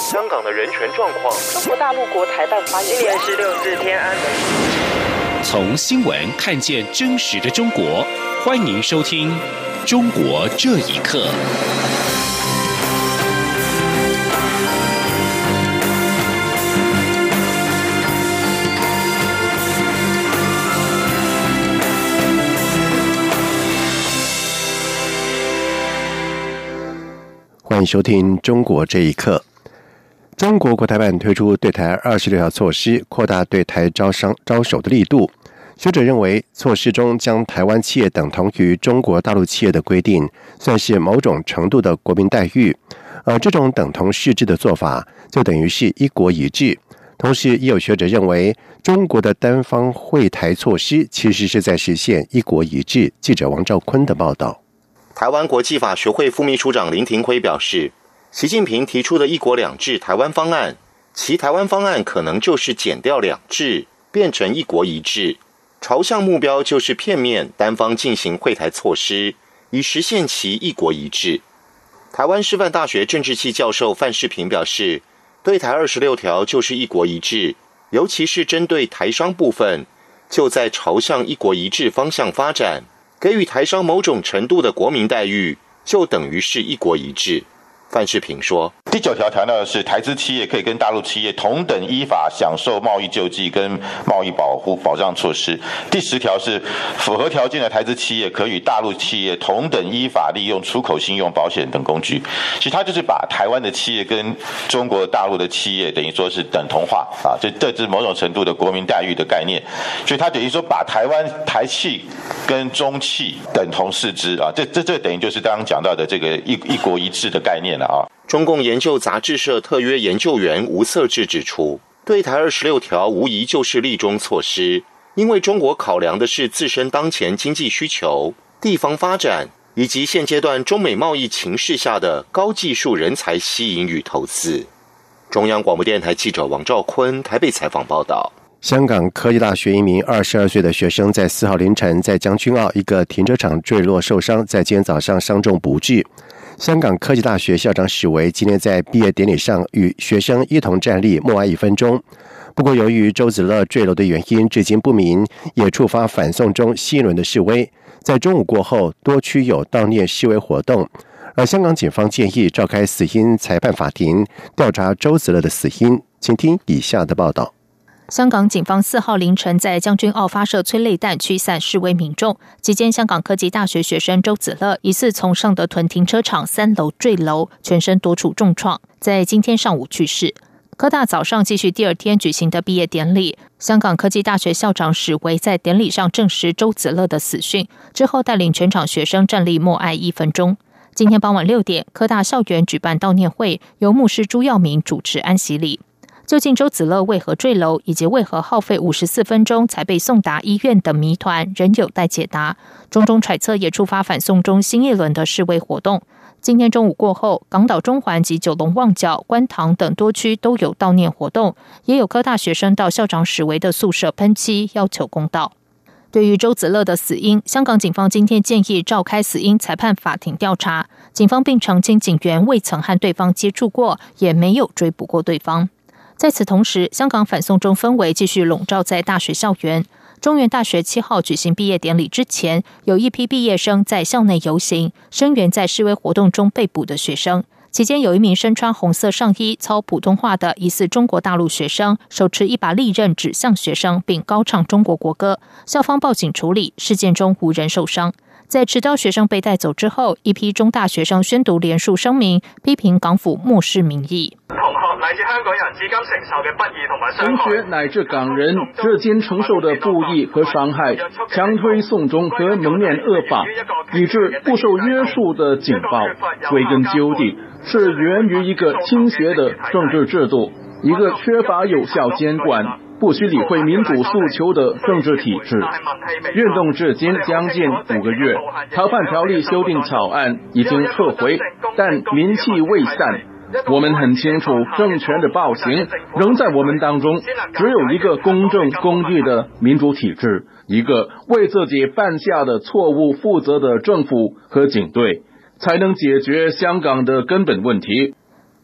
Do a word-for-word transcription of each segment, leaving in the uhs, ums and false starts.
香港的人权状况。 中国大陆国台办发言人， 今年是六四天安门。 从新闻看见真实的中国，欢迎收听《中国这一刻》。 欢迎收听《中国这一刻》。中国国台办推出对台二十六条措施，扩大对台招商招手的力度。学者认为，措施中将台湾企业等同于中国大陆企业的规定，算是某种程度的国民待遇。而这种等同视之的做法，就等于是一国一制。同时，也有学者认为，中国的单方惠台措施其实是在实现一国一制。记者王兆坤的报道。 台湾国际法学会副秘书长林廷辉表示，习近平提出的一国两制台湾方案，其台湾方案可能就是减掉两制，变成一国一制，朝向目标就是片面单方进行惠台措施，以实现其一国一制。台湾师范大学政治系教授范世平表示，对台二十六条就是一国一制，尤其是针对台商部分，就在朝向一国一制方向发展，给予台商某种程度的国民待遇，就等于是一国一制。范世平说， 第九条强调的是台资企业可以跟大陆企业同等依法享受贸易救济跟贸易保护保障措施。第十条是符合条件的台资企业可与大陆企业同等依法利用出口信用保险等工具。其实它就是把台湾的企业跟中国大陆的企业等于说是等同化啊，这这是某种程度的国民待遇的概念。所以它等于说把台湾台企跟中企等同视之啊，这这这等于就是刚刚讲到的这个一一国一制的概念了啊。 中共研究杂志社特约研究员吴色志指出，对台二十六条无疑就是利中措施，因为中国考量的是自身当前经济需求、地方发展以及现阶段中美贸易情势下的高技术人才吸引与投资。中央广播电台记者王兆坤台北采访报道。 香港科技大学一名二十二岁的学生在四号凌晨在将军澳一个停车场坠落受伤，在今天早上伤重不治。香港科技大学校长史维今天在毕业典礼上与学生一同站立默哀一分钟。不过，由于周子乐坠楼的原因至今不明，也触发反送中新一轮的示威。在中午过后，多区有悼念示威活动。而香港警方建议召开死因裁判法庭，调查周子乐的死因。请听以下的报道。 香港警方四号凌晨在将军澳发射催泪弹驱散示威民众，期间香港科技大学学生周子乐疑似从尚德屯停车场三楼坠楼，全身多处重创，在今天上午去世。科大早上继续第二天举行的毕业典礼，香港科技大学校长史维在典礼上证实周子乐的死讯，之后带领全场学生站立默哀一分钟。今天傍晚六点，科大校园举办悼念会，由牧师朱耀明主持安息礼。究竟周子乐为何坠楼，以及为何耗费五十四分钟才被送达医院的谜团，仍有待解答。种种揣测也触发反送中新一轮的示威活动。今天中午过后，港岛中环及九龙旺角、观塘等多区都有悼念活动，也有科大学生到校长史维的宿舍喷漆，要求公道。对于周子乐的死因，香港警方今天建议召开死因裁判法庭调查。警方并澄清，警员未曾和对方接触过，也没有追捕过对方。在此同时，香港反送中氛围继续笼罩在大学校园。中原大学七号举行毕业典礼之前，有一批毕业生在校内游行，声援在示威活动中被捕的学生。期间有一名身穿红色上衣、操普通话的疑似中国大陆学生，手持一把利刃指向学生，并高唱中国国歌。校方报警处理，事件中无人受傷。在持刀學生被帶走之後，一批中大學生宣讀連署聲明，批評港府漠視民意。 同學乃至香港人至今承受嘅不義同埋傷害， 同學乃至港人至今承受的不義和傷害，強推送中和蒙面惡法，以致不受約束的警暴，歸根究底是源於一個傾斜的政治制度，一個缺乏有效監管，不需理會民主訴求的政治體制。運動至今將近五個月，逃犯條例修訂草案已經撤回，但民氣未散。我們很清楚，政權的暴行仍在我們當中。只有一個公正公義的民主體制，一個為自己犯下的錯誤負責的政府和警隊，才能解決香港的根本問題。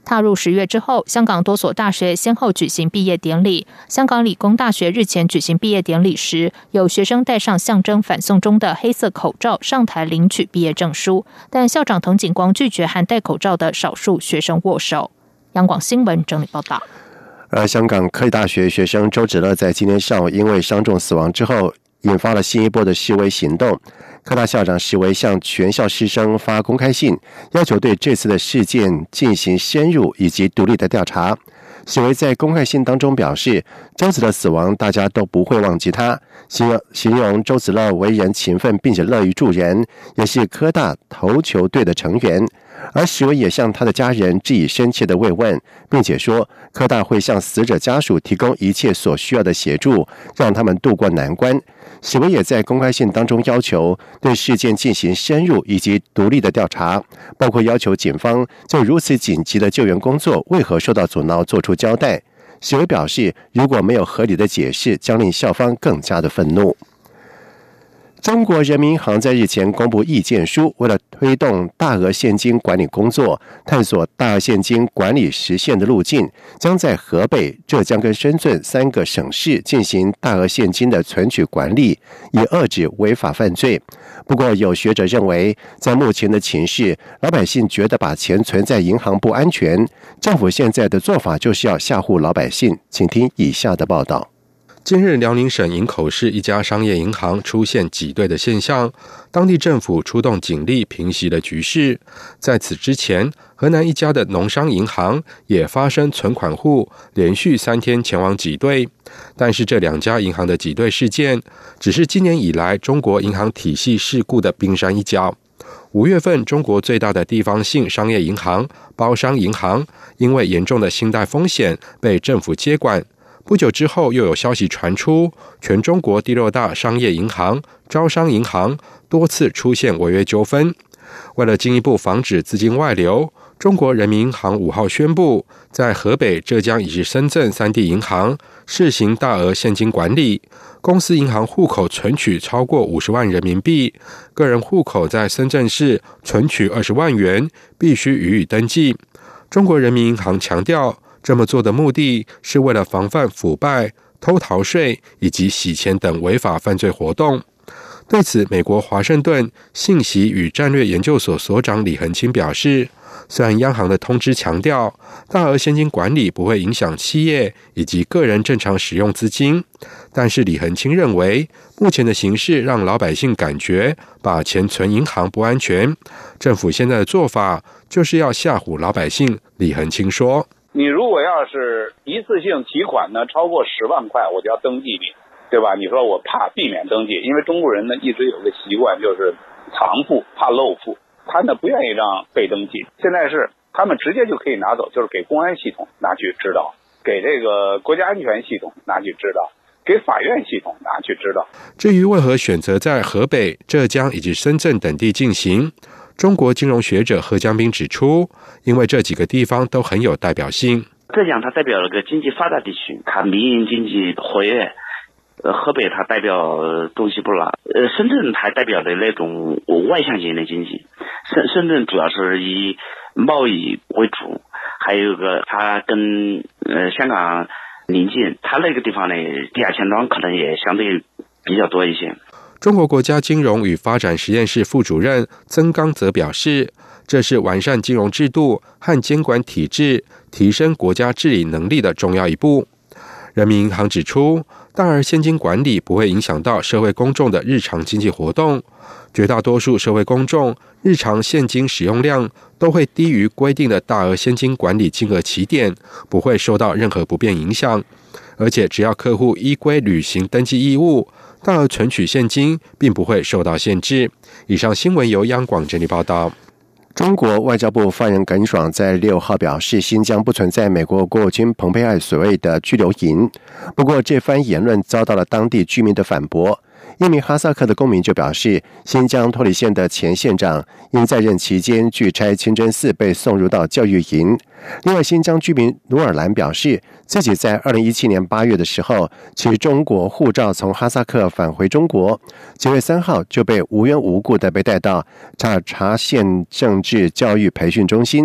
踏入十月之后，香港多所大学先后举行毕业典礼。香港理工大学日前举行毕业典礼时，有学生戴上象征反送中的黑色口罩上台领取毕业证书，但校长滕景光拒绝和戴口罩的少数学生握手。央广新闻整理报道。 而香港科技大学学生周芷乐在今天上午因为伤重死亡之后，引发了新一波的示威行动。科大校长示威向全校师生发公开信，要求对这次的事件进行深入以及独立的调查。示威在公开信当中表示，周子乐死亡大家都不会忘记他，形容周子乐为人勤奋并且乐于助人，也是科大投球队的成员。而示威也向他的家人致以深切的慰问，并且说科大会向死者家属提供一切所需要的协助，让他们渡过难关。示威也在公开信当中要求对事件进行深入以及独立的调查，包括要求警方就如此紧急的救援工作为何受到阻挠做出交代。示威表示，如果没有合理的解释，将令校方更加的愤怒。中国人民银行在日前公布意见书，为了推动大额现金管理工作，探索大额现金管理实现的路径，将在河北、浙江跟深圳三个省市进行大额现金的存取管理，以遏制违法犯罪。不过，有学者认为，在目前的情势，老百姓觉得把钱存在银行不安全，政府现在的做法就是要吓唬老百姓。请听以下的报道。 近日，辽宁省营口市一家商业银行出现挤兑的现象，当地政府出动警力平息了局势。在此之前，河南一家的农商银行也发生存款户连续三天前往挤兑，但是这两家银行的挤兑事件只是今年以来中国银行体系事故的冰山一角。五月份，中国最大的地方性商业银行包商银行因为严重的信贷风险被政府接管。不久之后，又有消息传出，全中国第六大商业银行招商银行多次出现违约纠纷。为了进一步防止资金外流，中国人民银行五号宣布，在河北、浙江以及深圳三地银行试行大额现金管理。公司银行户口存取超过五十万人民币，个人户口在深圳市存取二十万元，必须予以登记。中国人民银行强调，这么做的目的是为了防范腐败、偷逃税以及洗钱等违法犯罪活动。对此，美国华盛顿信息与战略研究所所长李恒清表示，虽然央行的通知强调大额现金管理不会影响企业以及个人正常使用资金，但是李恒清认为，目前的形势让老百姓感觉把钱存银行不安全，政府现在的做法就是要吓唬老百姓。李恒清说， 你如果要是一次性提款呢超过十万块，我就要登记你，对吧？你说我怕避免登记，因为中国人呢一直有个习惯，就是藏富怕漏富，他呢不愿意让被登记。现在是他们直接就可以拿走，就是给公安系统拿去指导，给这个国家安全系统拿去指导，给法院系统拿去指导。 至于为何选择在河北、浙江以及深圳等地进行，中国金融学者何江斌指出，因为这几个地方都很有代表性。 浙江它代表了个经济发达地区，它民营经济活跃；呃，河北它代表东西不拉，呃，深圳它代表的那种外向型的经济。深深圳主要是以贸易为主，还有一个它跟呃香港临近，它那个地方呢地下钱庄可能也相对比较多一些。 中国国家金融与发展实验室副主任曾刚则表示，这是完善金融制度和监管体制，提升国家治理能力的重要一步。人民银行指出，大额现金管理不会影响到社会公众的日常经济活动，绝大多数社会公众日常现金使用量都会低于规定的大额现金管理金额起点，不会受到任何不便影响。而且只要客户依规履行登记义务，大额存取现金并不会受到限制。以上新闻由央广整理报道。 中国外交部发言人耿爽在六号表示，新疆不存在美国国务卿蓬佩奥所谓的拘留营。不过，这番言论遭到了当地居民的反驳。一名哈萨克的公民就表示，新疆托里县的前县长因在任期间拒差清真寺被送入到教育营。另外，新疆居民努尔兰表示，自己在二零一七年八月的时候持中国护照从哈萨克返回中国，九月三号就被无缘无故的被带到察察县政治教育培训中心，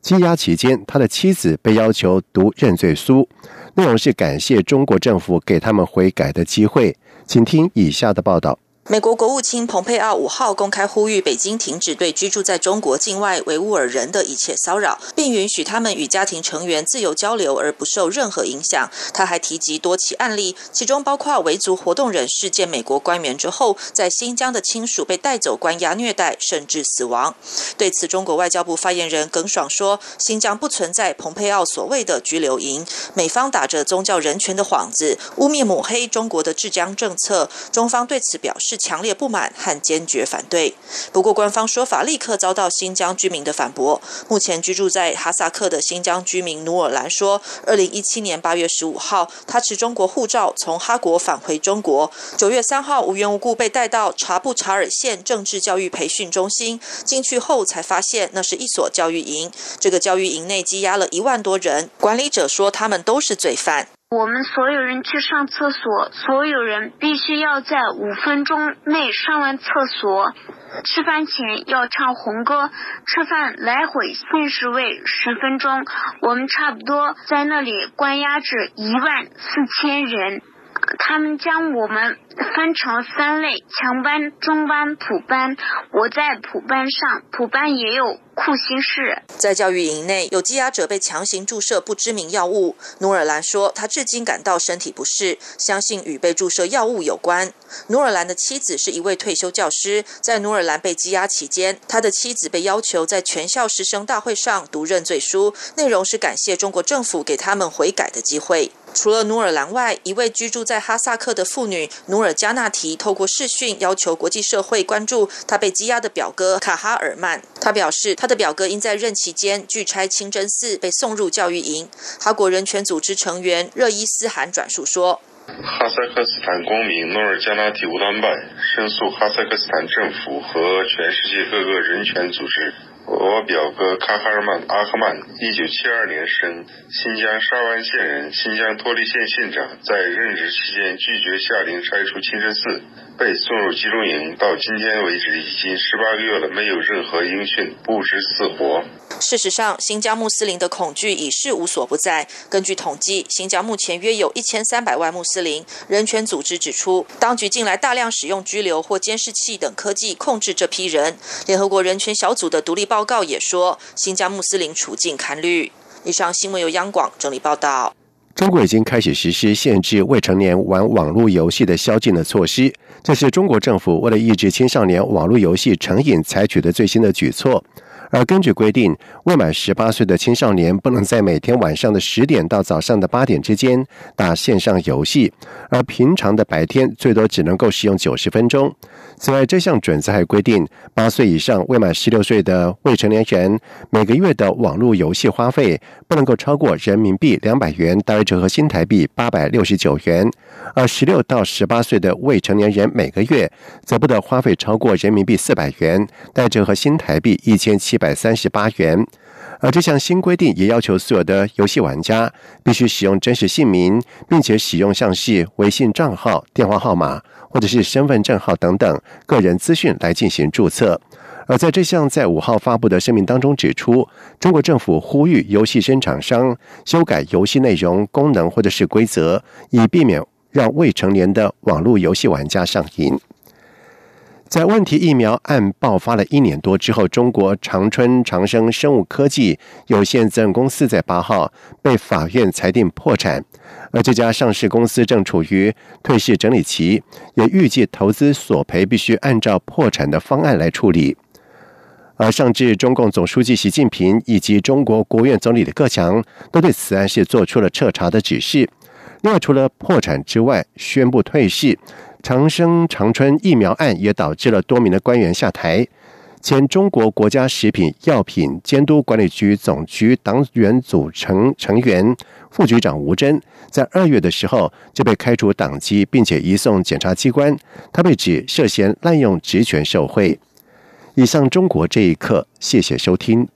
羁押期间，他的妻子被要求读认罪书，内容是感谢中国政府给他们悔改的机会。请听以下的报道。 美国国务卿蓬佩奥五号公开呼吁北京停止对居住在中国境外维吾尔人的一切骚扰，并允许他们与家庭成员自由交流而不受任何影响。他还提及多起案例，其中包括维族活动人士见美国官员之后，在新疆的亲属被带走关押虐待，甚至死亡。对此，中国外交部发言人耿爽说，新疆不存在蓬佩奥所谓的拘留营，美方打着宗教人权的幌子，污蔑抹黑中国的治疆政策，中方对此表示强烈不满和坚决反对。不过官方说法立刻遭到新疆居民的反驳。目前居住在哈萨克的新疆居民努尔兰说，二零一七年八月十五号，他持中国护照从哈国返回中国，九月三号无缘无故被带到察布查尔县政治教育培训中心，进去后才发现那是一所教育营，这个教育营内羁押了一万多人，管理者说他们都是罪犯。 我们所有人去上厕所，所有人必须要在五分钟内上完厕所。吃饭前要唱红歌，吃饭来回限时为十分钟。我们差不多在那里关押着一万四千人。他们将我们分成三类：强班、中班、普班。我在普班上，普班也有酷刑室。 在教育营内，有羁押者被强行注射不知名药物。努尔兰说，他至今感到身体不适，相信与被注射药物有关。努尔兰的妻子是一位退休教师，在努尔兰被羁押期间，他的妻子被要求在全校师生大会上读认罪书，内容是感谢中国政府给他们悔改的机会。除了努尔兰外，一位居住在哈萨克的妇女努尔加纳提透过视讯要求国际社会关注她被羁押的表哥卡哈尔曼。他表示，他的表哥因在任期间拒差清真寺被送入教育营。哈国人权组织成员热伊斯罕转述说， 哈萨克斯坦公民努尔加纳提乌丹办申诉哈萨克斯坦政府和全世界各个人权组织。我表哥卡哈尔曼阿赫曼，一九七二年生，新疆沙湾县人，新疆托利县县长，在任职期间拒绝下令拆除清真寺，被送入集中营，到今天为止已经十八个月了，没有任何音讯，不知死活。 事实上，新疆穆斯林的恐惧已是无所不在。根据统计，新疆目前约有一千三百万穆斯林。人权组织指出，当局近来大量使用拘留或监视器等科技控制这批人。联合国人权小组的独立报告也说，新疆穆斯林处境堪虑。以上新闻由央广整理报道。 中国已经开始实施限制未成年玩网络游戏的宵禁的措施，这是中国政府为了抑制青少年网络游戏成瘾采取的最新的举措。而根据规定，未满十八岁的青少年不能在每天晚上的十点到早上的八点之间打线上游戏，而平常的白天最多只能够使用九十分钟。此外，这项准则还规定，八岁以上未满十六岁的未成年人每个月的网络游戏花费不能够超过人民币两百元，大约折合新台币八百六十九元；而十六到十八岁的未成年人每个月则不得花费超过人民币四百元，大约折合新台币一千七百三十八元。而这项新规定也要求所有的游戏玩家必须使用真实姓名，并且使用像是微信账号、电话号码或者是身份证号等等个人资讯来进行注册。而在这项在五号发布的声明当中指出，中国政府呼吁游戏生产商修改游戏内容、功能或者是规则，以避免让未成年的网络游戏玩家上瘾。在问题疫苗案爆发了一年多之后，中国长春长生生物科技有限责任公司在八号被法院裁定破产，而这家上市公司正处于退市整理期，也预计投资索赔必须按照破产的方案来处理。而上至中共总书记习近平以及中国国务院总理李克强都对此案是做出了彻查的指示。另外，除了破产之外，宣布退市，长生长春疫苗案也导致了多名的官员下台。前中国国家食品药品监督管理局总局党员组成成员副局长吴征，在二月的时候就被开除党籍，并且移送检察机关。他被指涉嫌滥用职权受贿。以上中国这一刻，谢谢收听。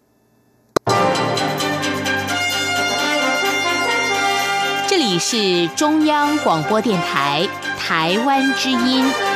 这里是中央广播电台台湾之音。